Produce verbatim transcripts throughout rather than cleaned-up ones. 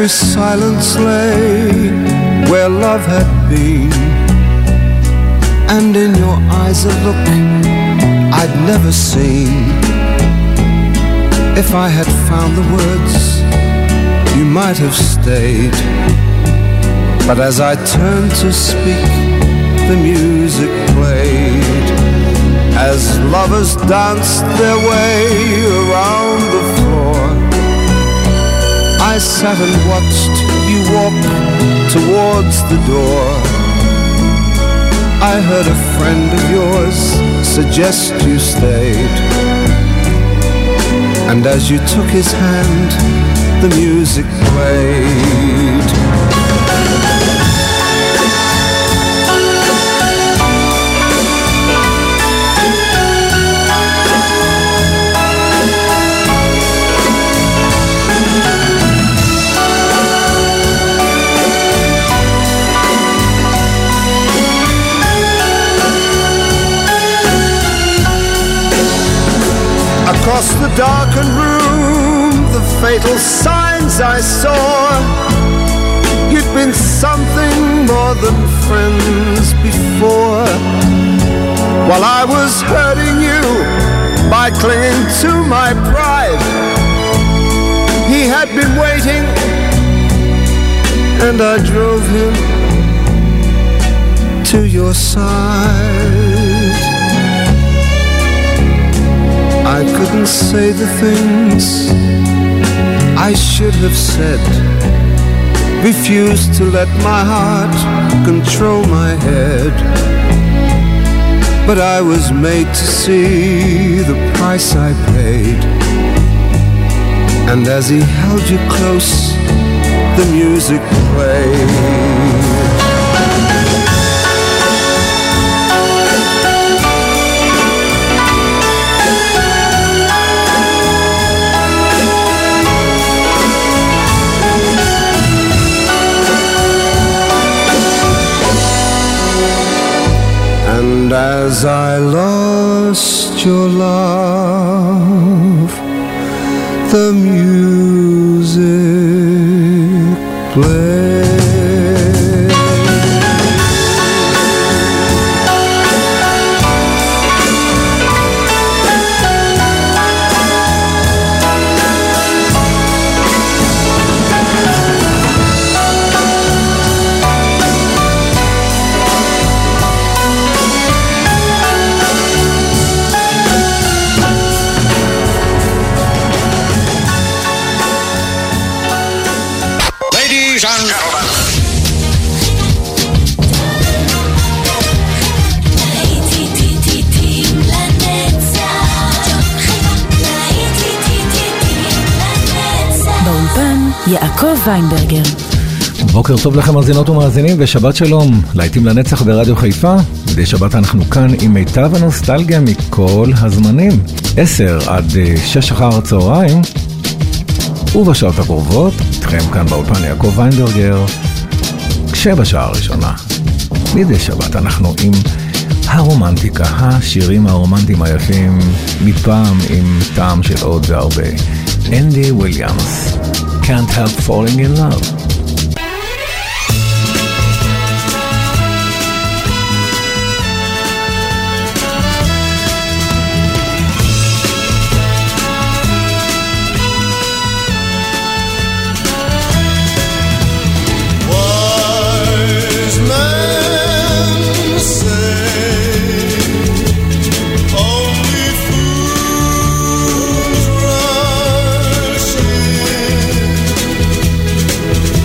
every silence lay where love had been, and in your eyes a look I'd never seen. If I had found the words, you might have stayed. But as I turned to speak, the music played. As lovers danced their way around the floor, I sat and watched you walk towards the door. I heard a friend of yours suggest you stayed, and as you took his hand, the music played. Across the darkened room, the fatal signs I saw. You'd been something more than friends before. While I was hurting you by clinging to my pride, he had been waiting, and I drove him to your side. I couldn't say the things I should have said, refused to let my heart control my head. But I was made to see the price I paid, and as he held you close, the music played. And as I lost your love, the music played. יעקב ויינברגר. בוקר טוב לכם מאזינות ומאזינים ושבת שלום. להיטים לנצח ברדיו חיפה. מדי שבת אנחנו כאן עם מיטב הנוסטלגיה מכל הזמנים. עשר עד שש אחר הצהריים. ובשעות הקרובות, איתכם כאן באולפן יעקב ויינברגר. כשבשעה הראשונה, מדי שבת אנחנו עם הרומנטיקה, השירים הרומנטיים היפים, מפעם עם טעם של עוד והרבה. אנדי וויליאמס. Can't help falling in love. Only fools rush in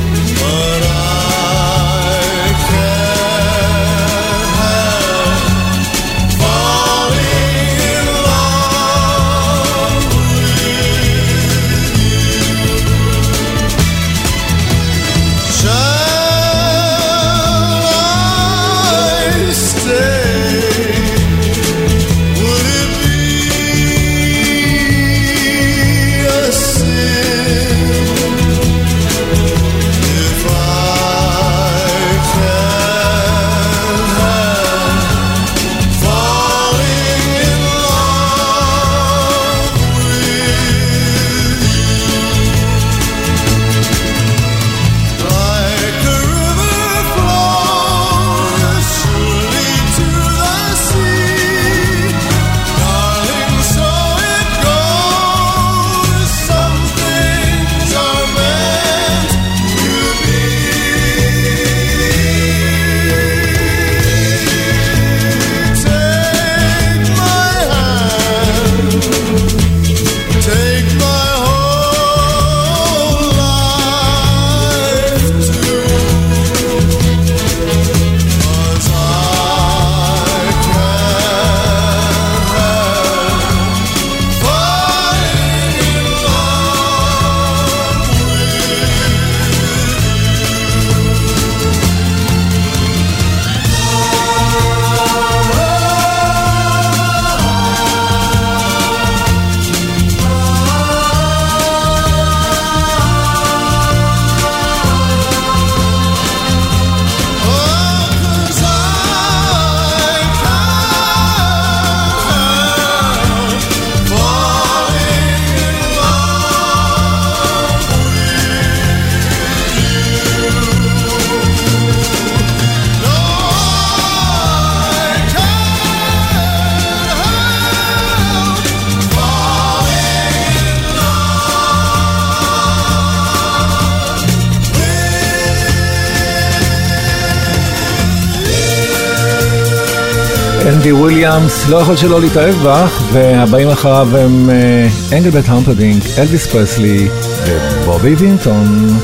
אנדי וויליאמס, לא יכול שלא להתאהב בך, והבאים אחריו הם אנגלברט המפרדינק, אלוויס פרסלי ובובי וינטון.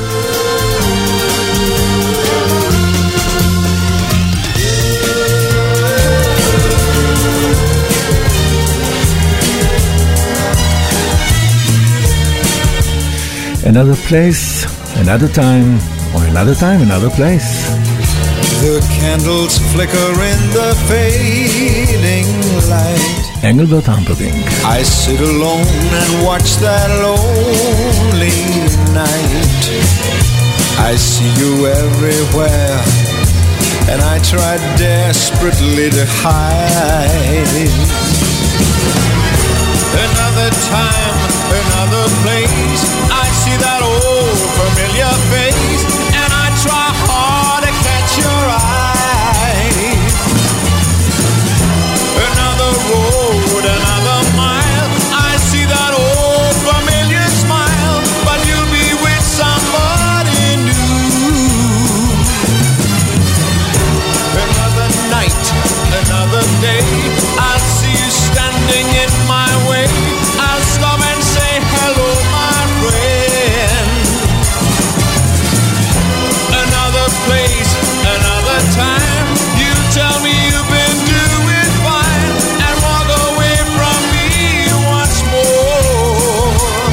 Another place, another time, or another time, another place. The candles flicker in the fading light. Engelbert Humperdinck. I sit alone and watch that lonely night. I see you everywhere, and I try desperately to hide. Another time, another place, I see that old familiar face, and I try hard to catch your eye. Another road, another mile, I see that old familiar smile, but you'll be with somebody new. Another night, another day, I'll see you standing in my way. I'll stop and say hello, my friend. Another place, another time, you tell me you've been doing fine, and walk away from me once more.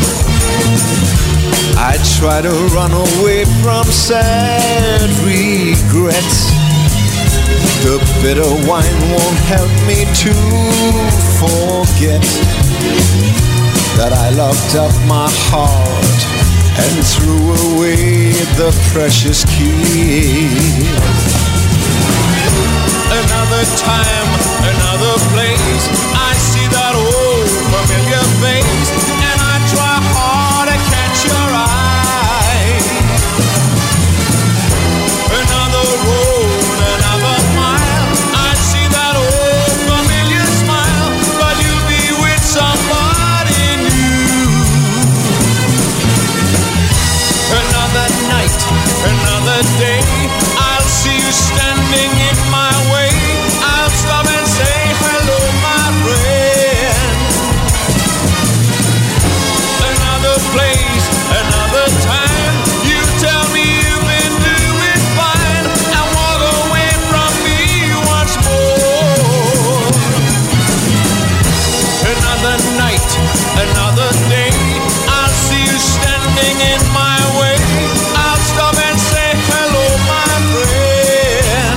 I try to run away from sad regrets. The bitter wine won't help me to forget that I locked up my heart and threw away the precious key. Another time, another place, I see that old familiar face, and I try hard to catch your eye. Another road, another mile, I see that old familiar smile, but you'll be with somebody new. Another night, another day, I'll see you standing in my way. I'll stop and say hello, my friend. Another place, another time, you tell me you've been doing fine, and walk away from me once more. Another night, another day, I'll see you standing in my way. I'll stop and say hello, my friend.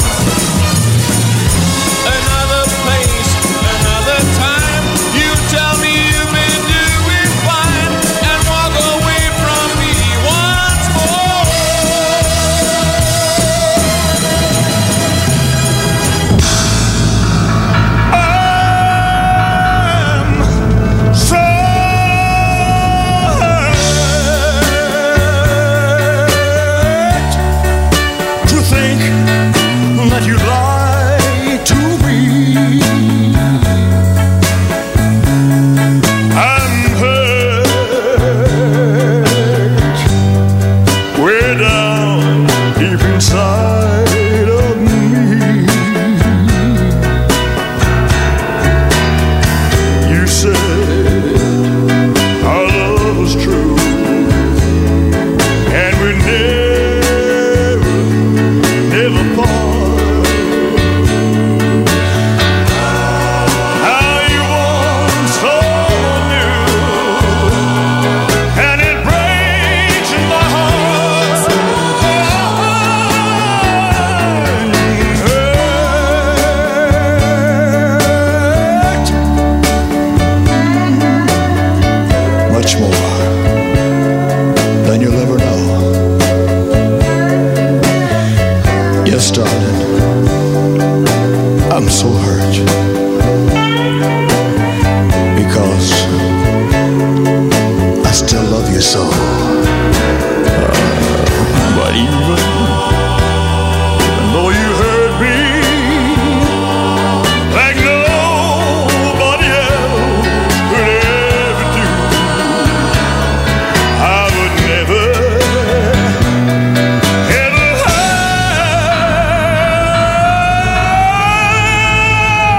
Another place, another time, you tell me you've been doing fine, and walk away from me once more. I'm so hurt to think that you lied to me. I'm hurt way down deep inside of me. You said our love was true, and we never, never part. How you want so new, and it breaks my heart. Hurt much more than you'll ever know. Yes, darling, I'm so hurt because I still love you so. But even, even though you hurt me like nobody else could ever do, I would never, ever hurt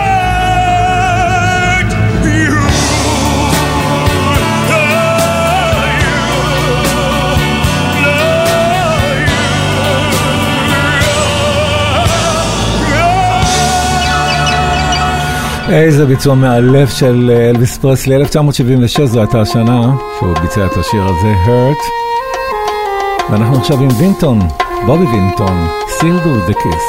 איזה ביצוע מאלף של אלוויס פרסלי. אלף תשע מאות שבעים ושש זו הייתה השנה שהוא ביצע את השיר הזה, Hurt. ואנחנו עכשיו עם וינטון, בובי וינטון, Still Do The Kiss.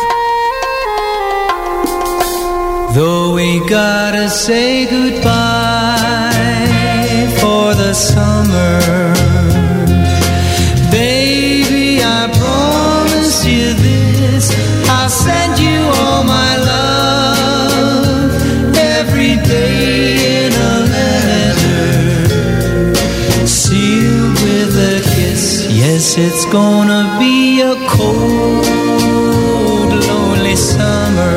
Though we gotta say goodbye for the summer, baby, I promise you this, I'll send you all my love every day in a letter, sealed with a kiss. Yes, it's gonna be a cold, lonely summer,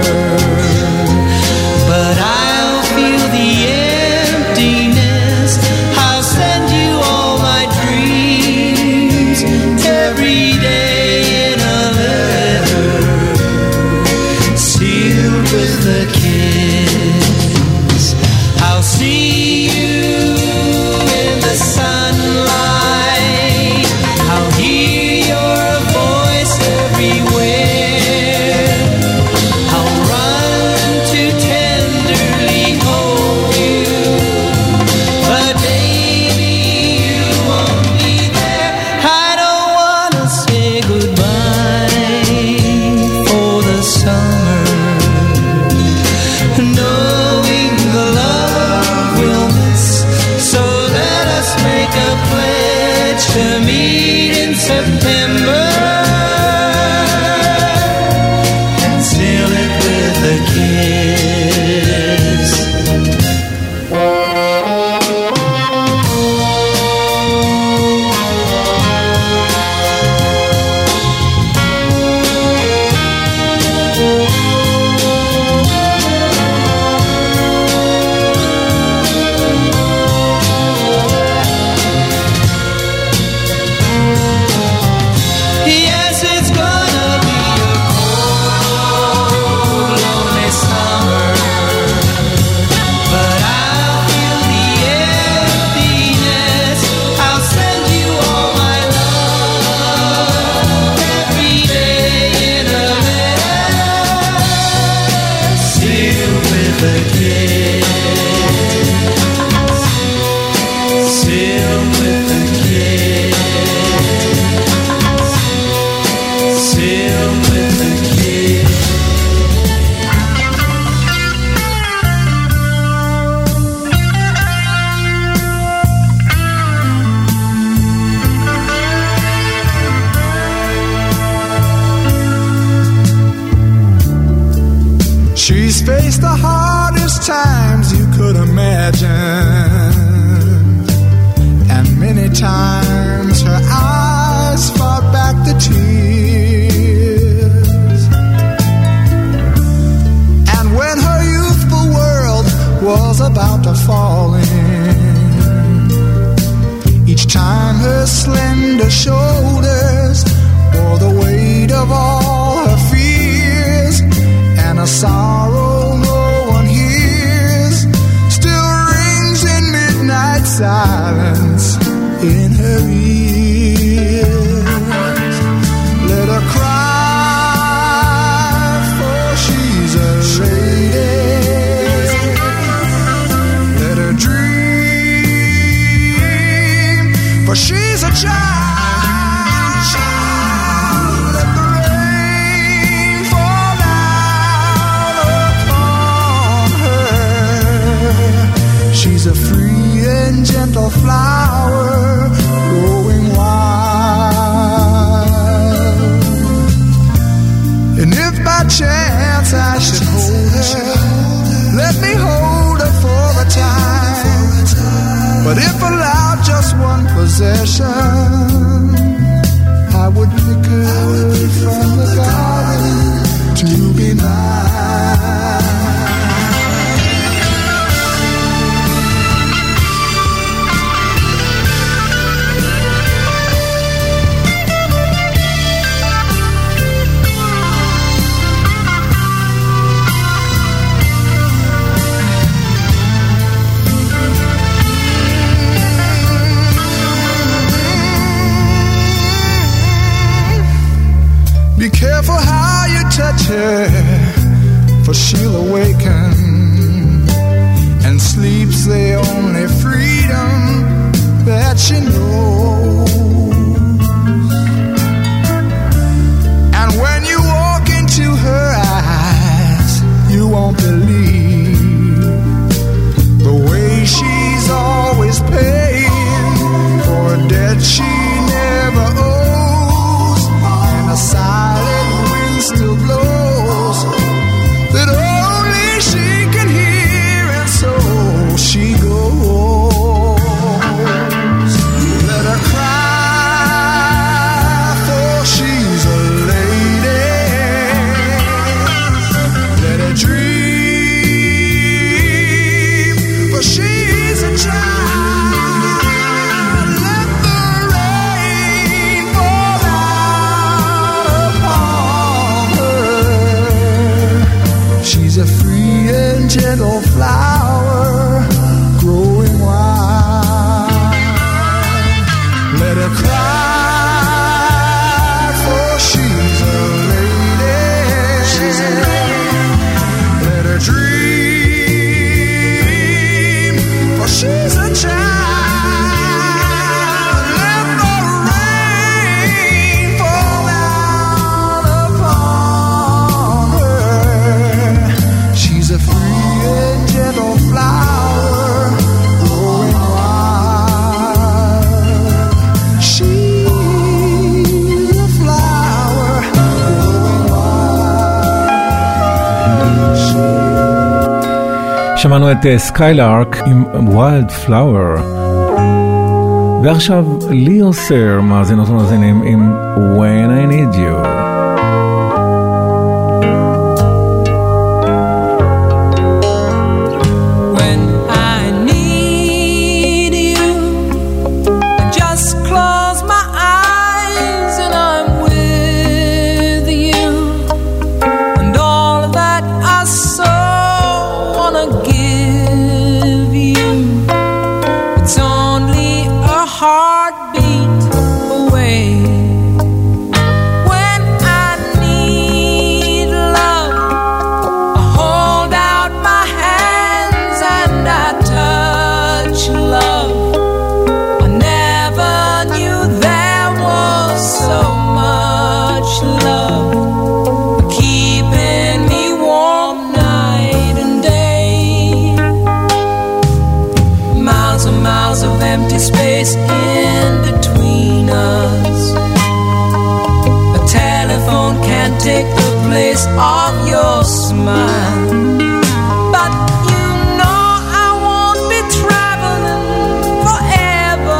but I'll feel the emptiness. I'll send you all my dreams every day in a letter, sealed with a kiss. I'll see you in the sunlight, I'll hear your voice everywhere, I'll run to tenderly hold you, but baby, you won't be there. I don't wanna say goodbye for the summer, knowing the love we'll miss. So let us make a pledge to meet in September and seal it with a kiss. Yes, it's gonna be a cold, lonely summer, but I'll feel the emptiness. I'll send you all my love every day in a letter, sealed with a kiss, sealed with a kiss, sealed with a kiss. She's faced the hardest times you could imagine, and many times her eyes fought back the tears. And when her youthful world was about to fall in, each time her slender shoulders bore the weight of all her fears, and a sorrow no one hears still rings in midnight silence in her ears. Let her cry, for she's a lady. Let her dream, for she's a child. Let the rain fall down upon her. She's a free and gentle flower growing wild. And if by chance I should hold her, let me hold her for a time. But if allowed just one possession, I would pick her from the garden to be mine. Be careful how you touch her, for she'll awaken sleep's the only freedom that she knows. And when you walk into her eyes, you won't believe the way she's always paying for a debt she never owes. And a silent wind still blows that only she can hear, and so she goes. Let her cry, for she's a lady. Let her dream, for she's a child. Let the rain fall out upon her. She's a free and gentle flower growing wild. Let her cry, for she's a lady. She's a lady. Let her dream, for she's a child. Let the rain fall out upon her. She's a free and gentle flower growing wild. She's a flower growing wild. שמענו את סקיילארק עם ויילד פלאואר, ועכשיו ליאו סר, מאזינות ומאזינים, עם When I Need You. When I need you, I just close my eyes and I'm with you, and all that I so wanna give you, it's only a heartbeat away. When I need love, I hold out my hands and I touch love. I never knew there was so much love, keeping me warm night and day. Miles and miles of empty space in between us. A telephone can't take the place of your smile. But you know I won't be traveling forever.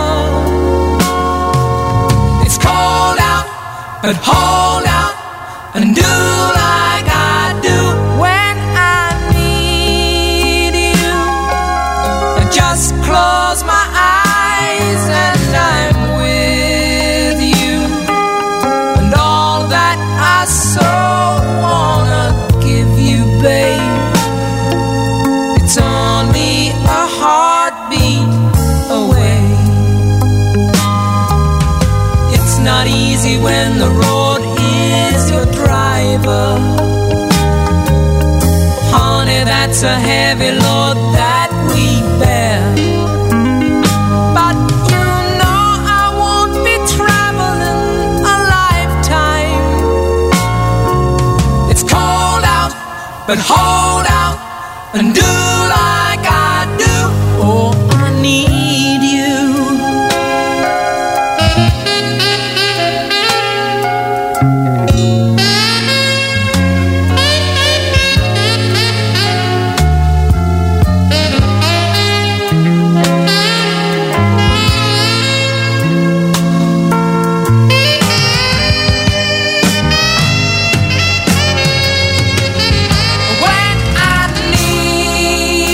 It's cold out, but hold out and do like I do. When I need you, I just close my eyes and I'm with you, and all that I so wanna give you, babe, it's only a heartbeat away. It's not easy when the road is your driver. Honey, that's a heavy load that we bear. But you know I won't be traveling a lifetime. It's cold out, but hold out and do like I do. Oh, I need you. When I need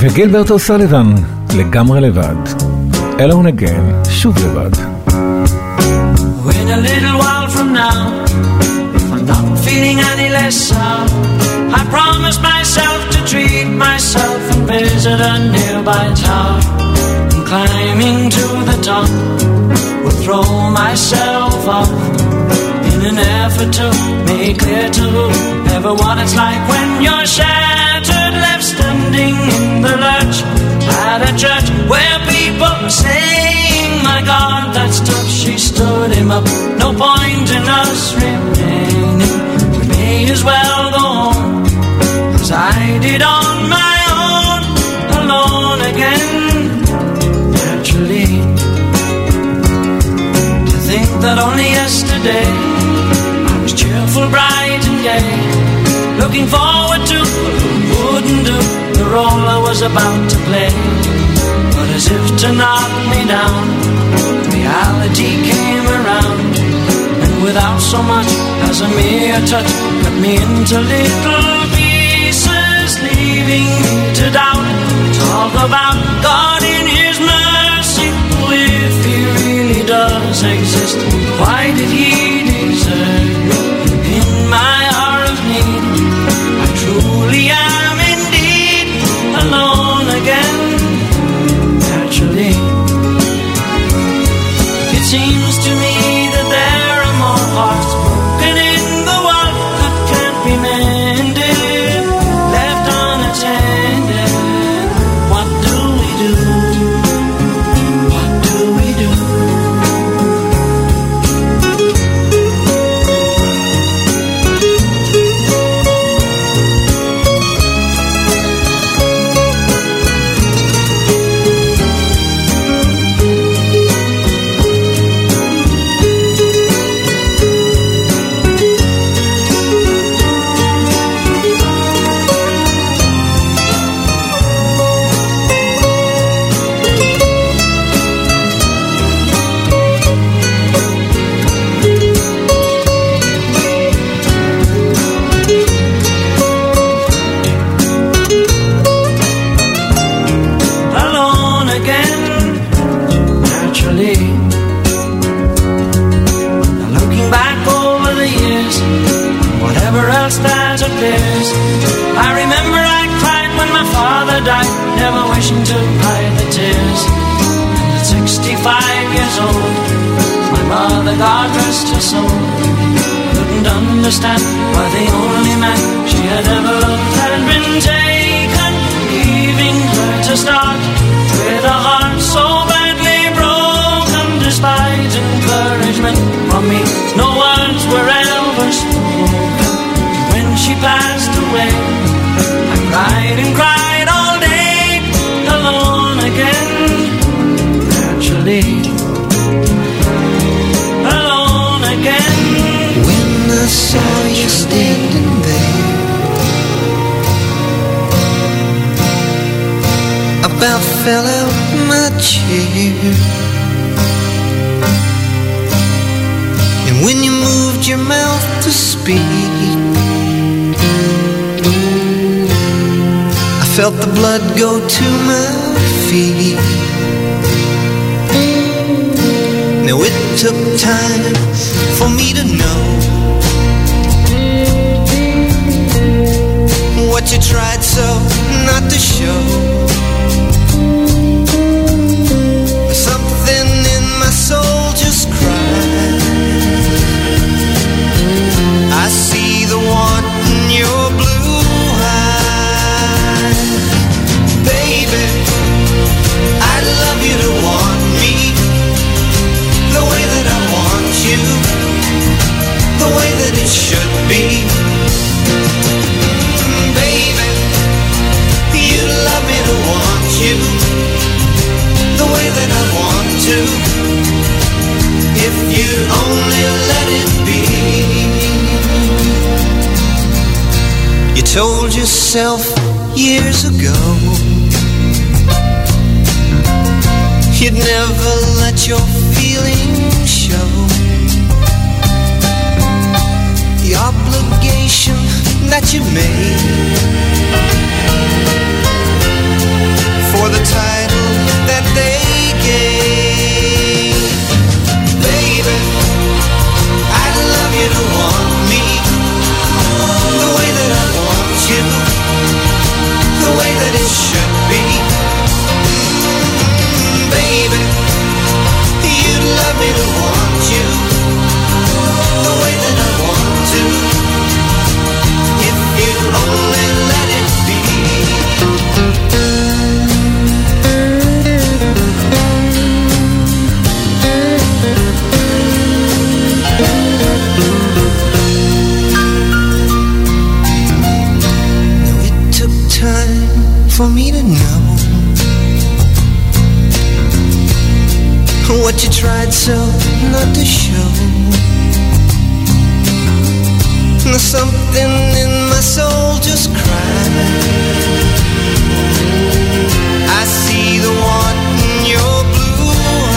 וגילברט אוסליבן, לגמרי לבד. Alone Again, שוב לבד. When a little while from now, if I'm not feeling any less sound, I promise myself to treat myself and visit a nearby town. And climbing to the top, will throw myself off in an effort to make clear to everyone it's like when you're shattered, left standing in the lurch at a church where people are saying, my God, that's tough. She stood him up. No point in us remaining. We may as well go on as I did on my own, alone again. Naturally, to think that only yesterday I was cheerful, bright and gay, looking forward to what wouldn't do the role I was about to play. But as if to knock me down, reality came around, and without so much as a mere touch, cut me into little pieces, leaving me to doubt. Talk about God in His mercy. If He really does exist, why did He desert me in my hour of need? I truly am indeed alone again. Naturally, it seems to me that there are more hearts broken in the world that can't be mended, left unattended. What do we do? What do we do? I remember I cried when my father died, never wishing to hide the tears. And at sixty-five years old, my mother, God rest her soul, couldn't understand why the only man she had ever loved had been taken, leaving her to start with a heart so badly broken. Despite encouragement from me, no words were ever spoken. She passed away. I cried and cried all day, alone again. Naturally, alone again. When I saw you standing there, I about fell out my chair. And when you moved your mouth to speak, felt the blood go to my feet. Now it took time for me to know what you tried so not to show. Something in my soul just cried. I see the want in your blue eyes. Baby, I'd love you to want me the way that I want you, the way that it should be. Baby, you'd love me to want you the way that I want to, if you'd only let it be. You told yourself years ago you'd never let your feelings show. The obligation that you made but you tried so not to show. There's something in my soul just crying. I see the one in your blue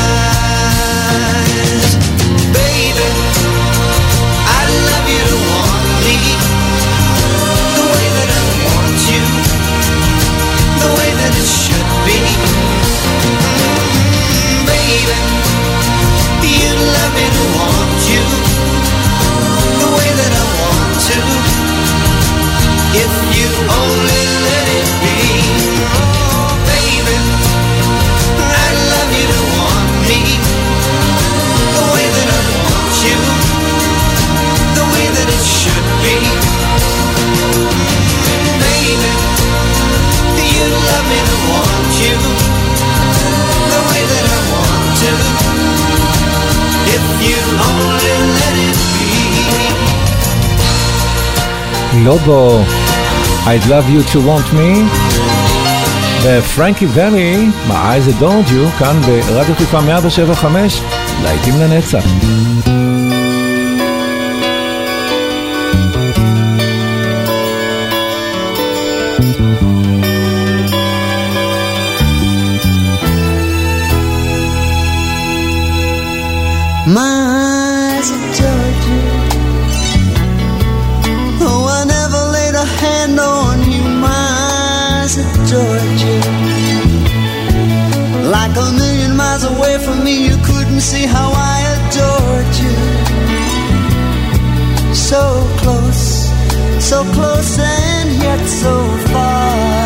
eyes. Baby, I'd love you to want me the way that I want you, the way that it should be. Mm-hmm, baby, you'd love me to want you the way that I want to, if you only let it be. Oh baby, I'd love you to want me the way that I want you, the way that it should be. Baby, you'd love me to want you the way that I want to, if you only let it be. לובו, I'd love you to want me, ופרנקי ולי, My eyes adored you, כאן ברדיו חיפה מאה שבע חמש, להיטים לנצח. My eyes adored you. Oh, I never laid a hand on you. My eyes adored you. Like a million miles away from me, you couldn't see how I adored you. So close, so close and yet so far.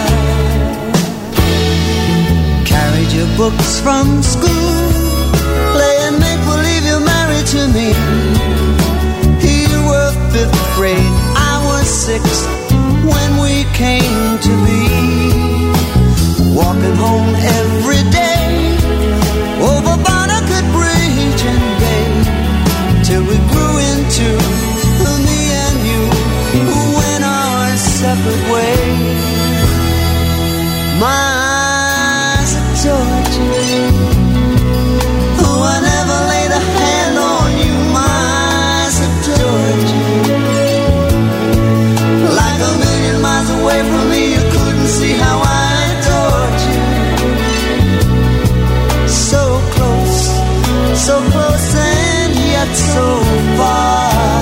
Carried your books from school, playing make-believe you're married to me. You were fifth grade, I was sixth, when we came to be. Walking home every day, over Barnegat Bridge and Bay, till we grew into me and you, who went our separate ways. My eyes adored you. Oh, I never laid a hand on you. My eyes adored you. Like a million miles away from me, you couldn't see how I adored you. So close, so close and yet so far.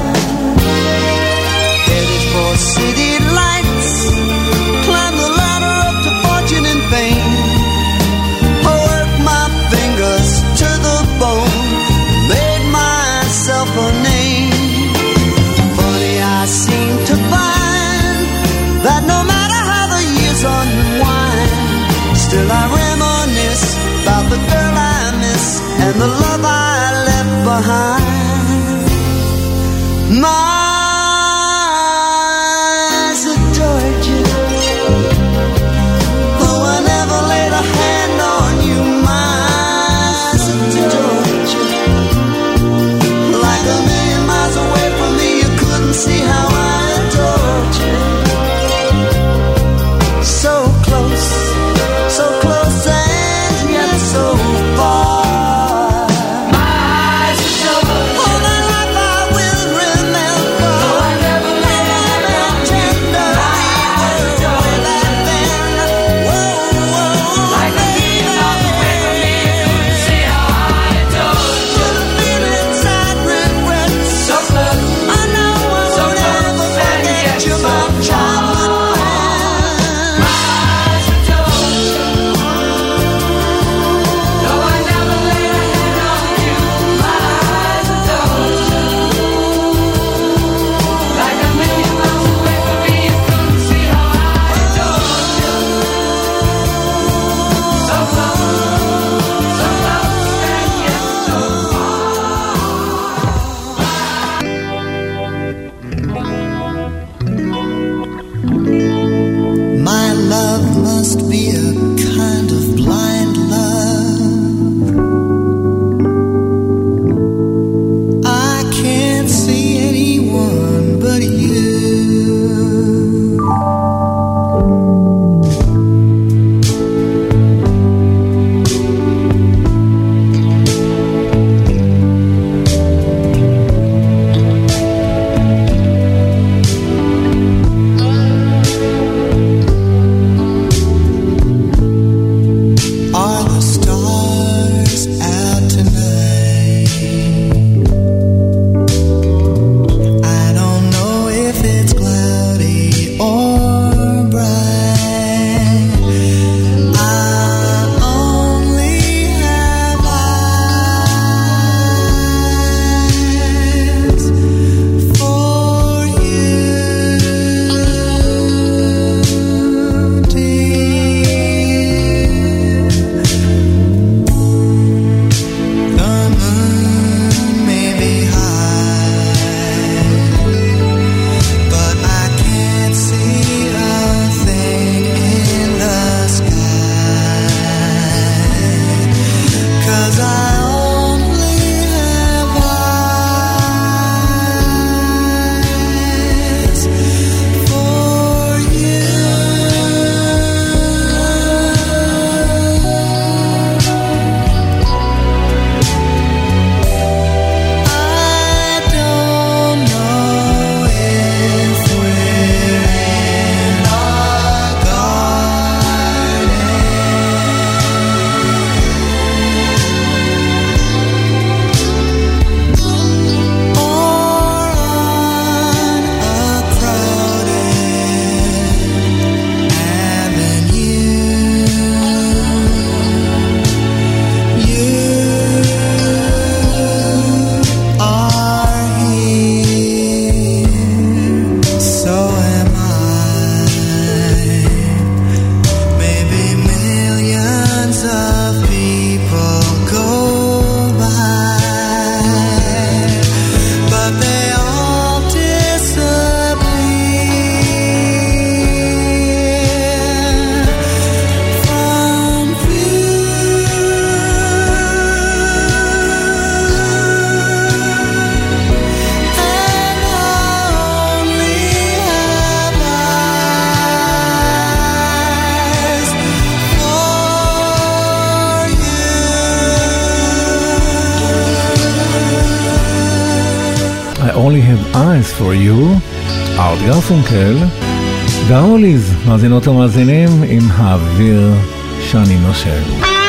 Headed for city lights, climb the ladder up to fortune and fame. Work my fingers to the bone, made myself a name. Funny, I seem to find that no matter how the years unwind, still I reminisce about the girl I miss and the love I left behind. My eyes adored you. Oh, I never laid a hand on you. My eyes adored you. Like a million miles away from me, you couldn't see how I adored you. So close, so close and yet so far. My eyes adored you. All my life I will remember Nice for You, ארט גרפונקל, וההוליז, מאזינות ומאזינים עם האוויר שאני נושם.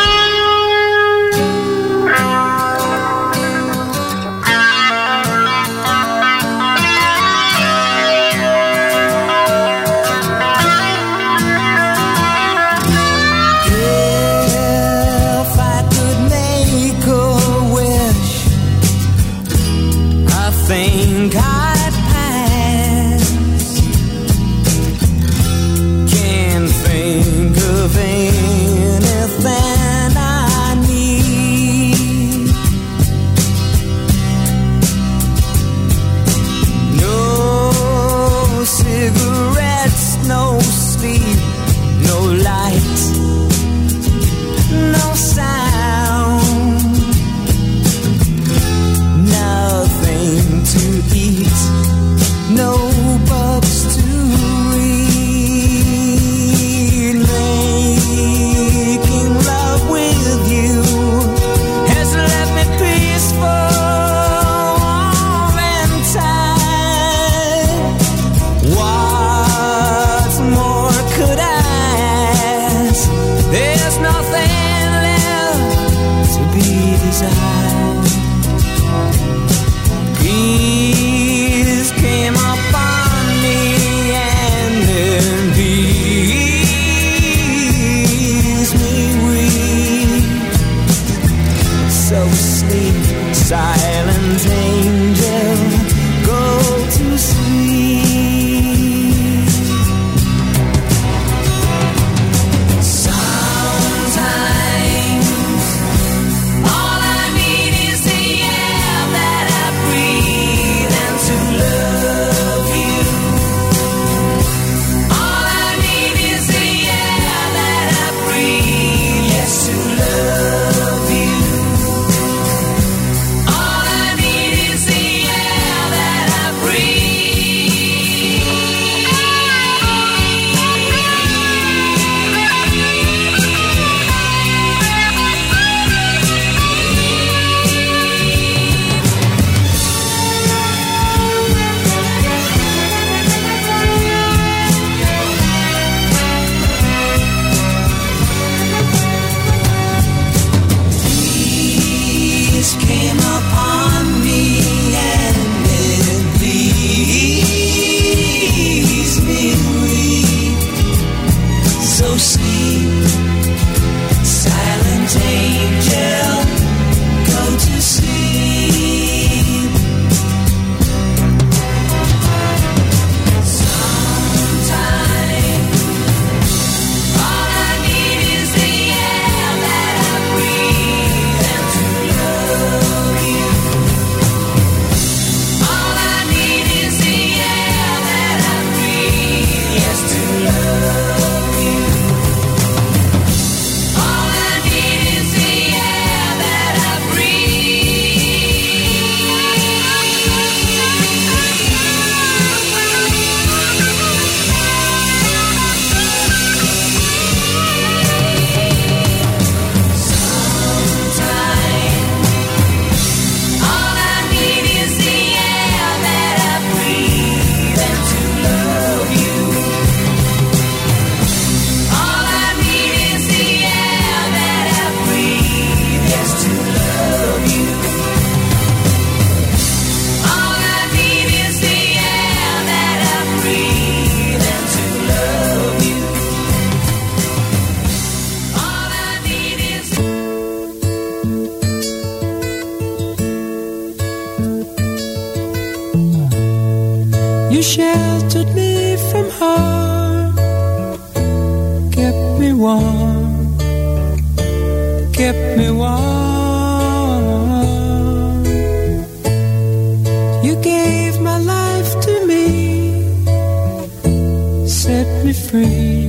Sheltered me from harm, kept me warm, kept me warm. You gave my life to me, set me free,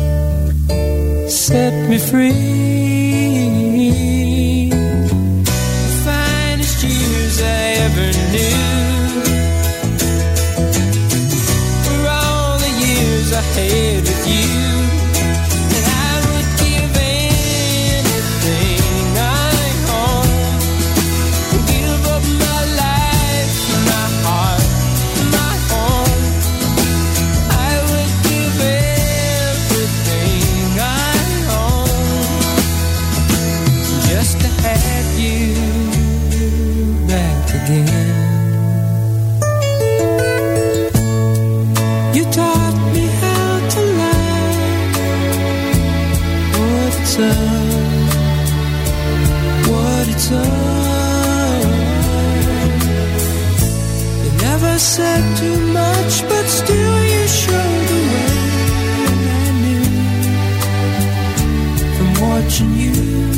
set me free. The finest years I ever knew, I had with you, and I would give anything I own, give up my life, my heart, said too much, but still you showed the way. And I knew from watching you,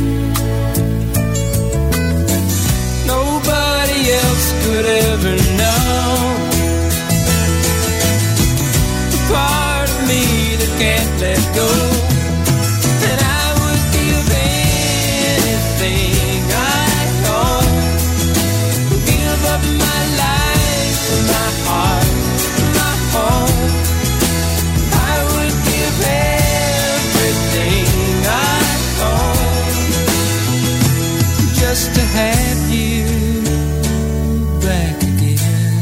nobody else could ever know the part of me that can't let go. And I would give anything I own, give up my life, my heart, my home. I would give everything I own just to have you back again.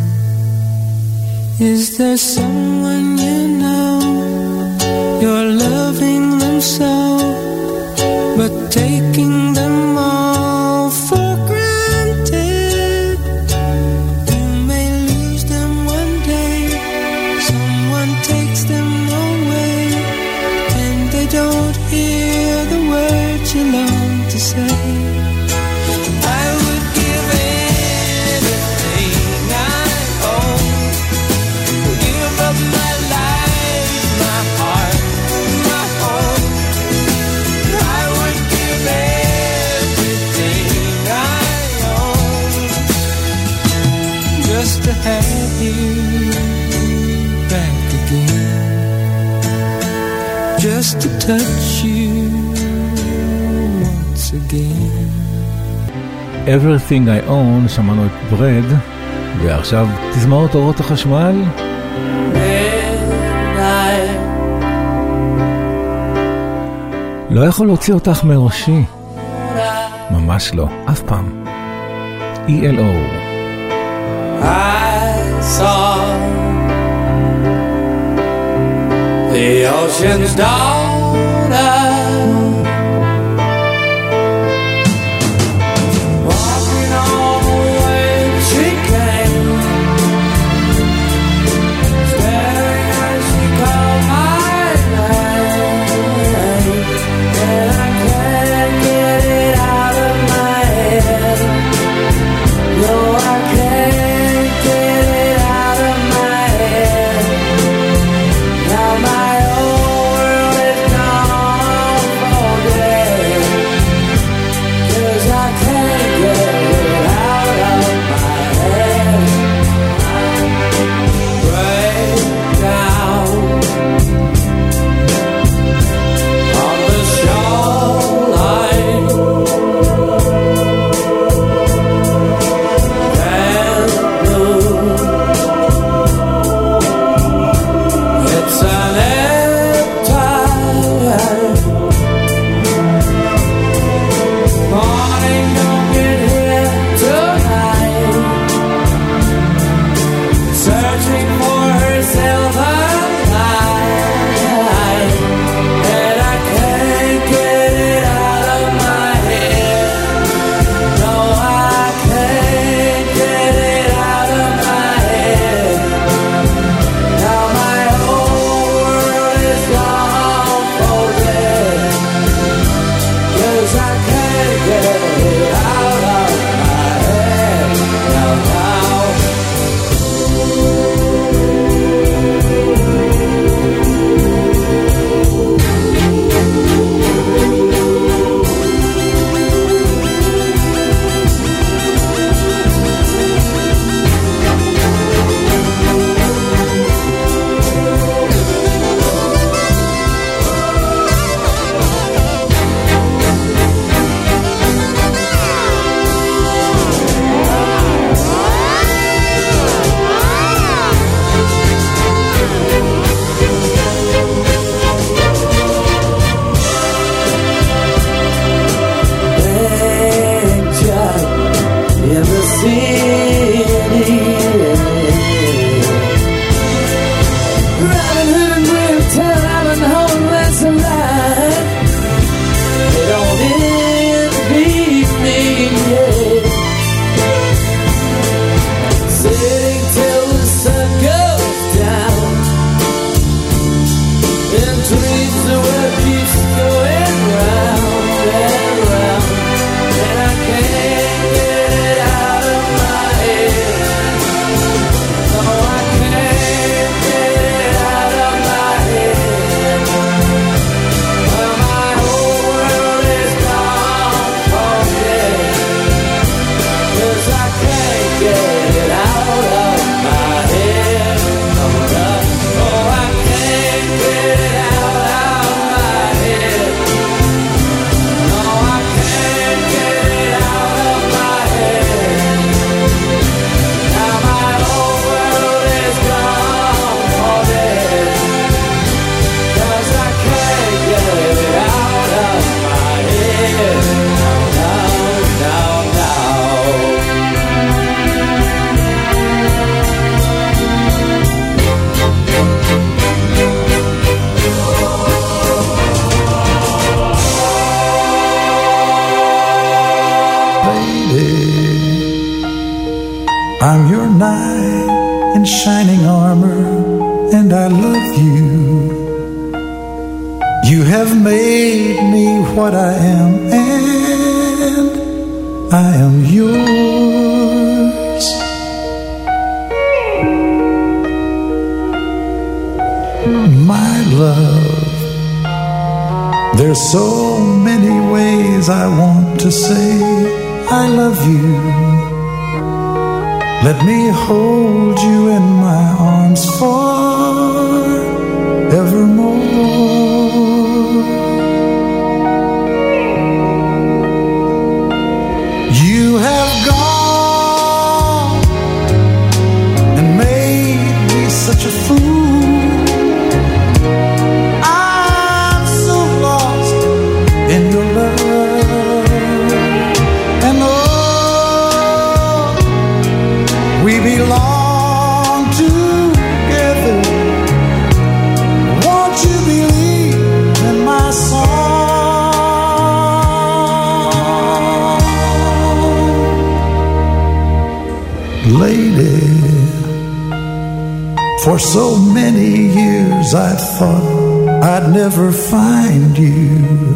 Is there someone you know, you're loving them so, but taking them all for granted? You may lose them one day, someone takes them away, and they don't hear the words you long to say. I would give anything I own, give up my life, my heart, my home. I would give everything I own just to have you back again, just to touch you once again. Everything I own, שמענו את ברד, ועכשיו תזמורת אורות החשמל. לא יכול להוציא אותך מראשי, ממש לא, אף פעם. E L O. I saw the ocean's daughter walking on when she came, staring as she called my name, and I can't get it out of my head. No, I can't get it out of my head. Now my whole world shining armor, and I love you. You have made me what I am, and I am yours. My love, there's so many ways I want to say I love you. Let me hold you in my arms forevermore. You have gone and made me such a fool. I'm so lost in your love, and oh, we belong together. Won't you believe in my song? Lady, for so many years I thought I'd never find you.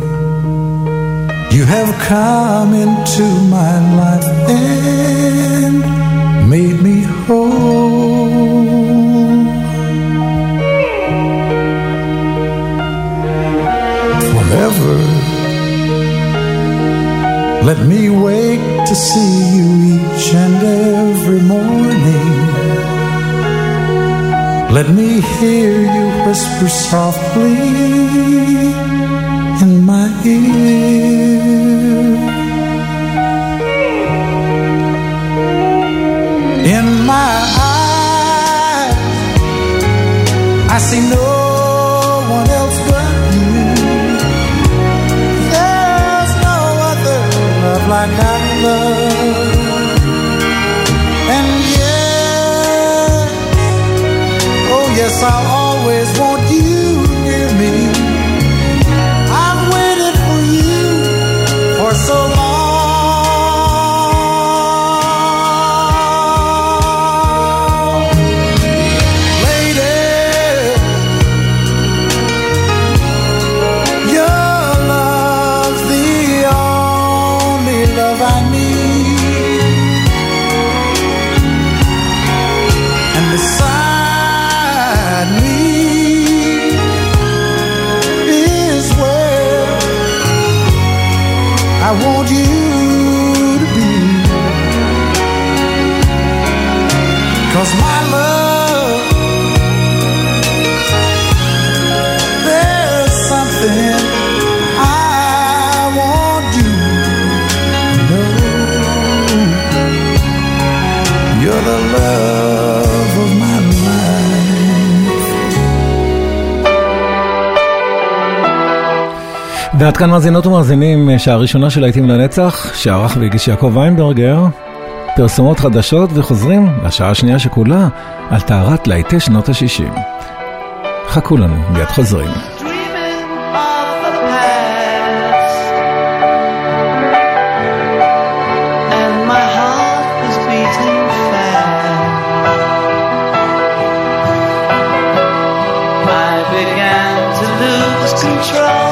You have come into my life and made me whole. Forever, let me wake to see you each and every morning. Let me hear you whisper softly in my ear. In my eyes, I see no one else but you. There's no other love like I love. And yes, oh yes, I'll always want you near me. I've waited for you for so long. I want you to be, 'cause my love, there's something I want you to know. You're the love of my life. ועד כאן מאזינות ומאזינים, שעה ראשונה של להיטים לנצח, שערך והגיש יעקב ויינברגר. פרסומות חדשות וחוזרים לשעה השנייה שכולה על טהרת להיטי שנות ה-שישים. חכו לנו, מיד חוזרים. Control